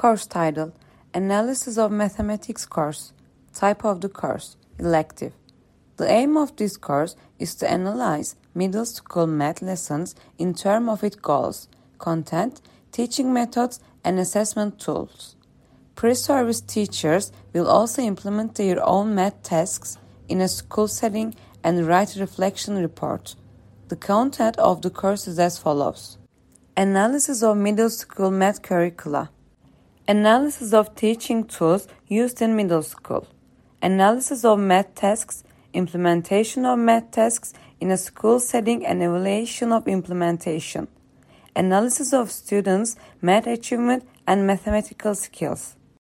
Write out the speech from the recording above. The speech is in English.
Course title: Analysis of Mathematics Course. Type of the course: Elective. The aim of this course is to analyze middle school math lessons in terms of its goals, content, teaching methods, and assessment tools. Pre-service teachers will also implement their own math tasks in a school setting and write a reflection report. The content of the course is as follows. Analysis of middle school math curricula. Analysis of teaching tools used in middle school. Analysis of math tasks, implementation of math tasks in a school setting and evaluation of implementation. Analysis of students' math achievement and mathematical skills.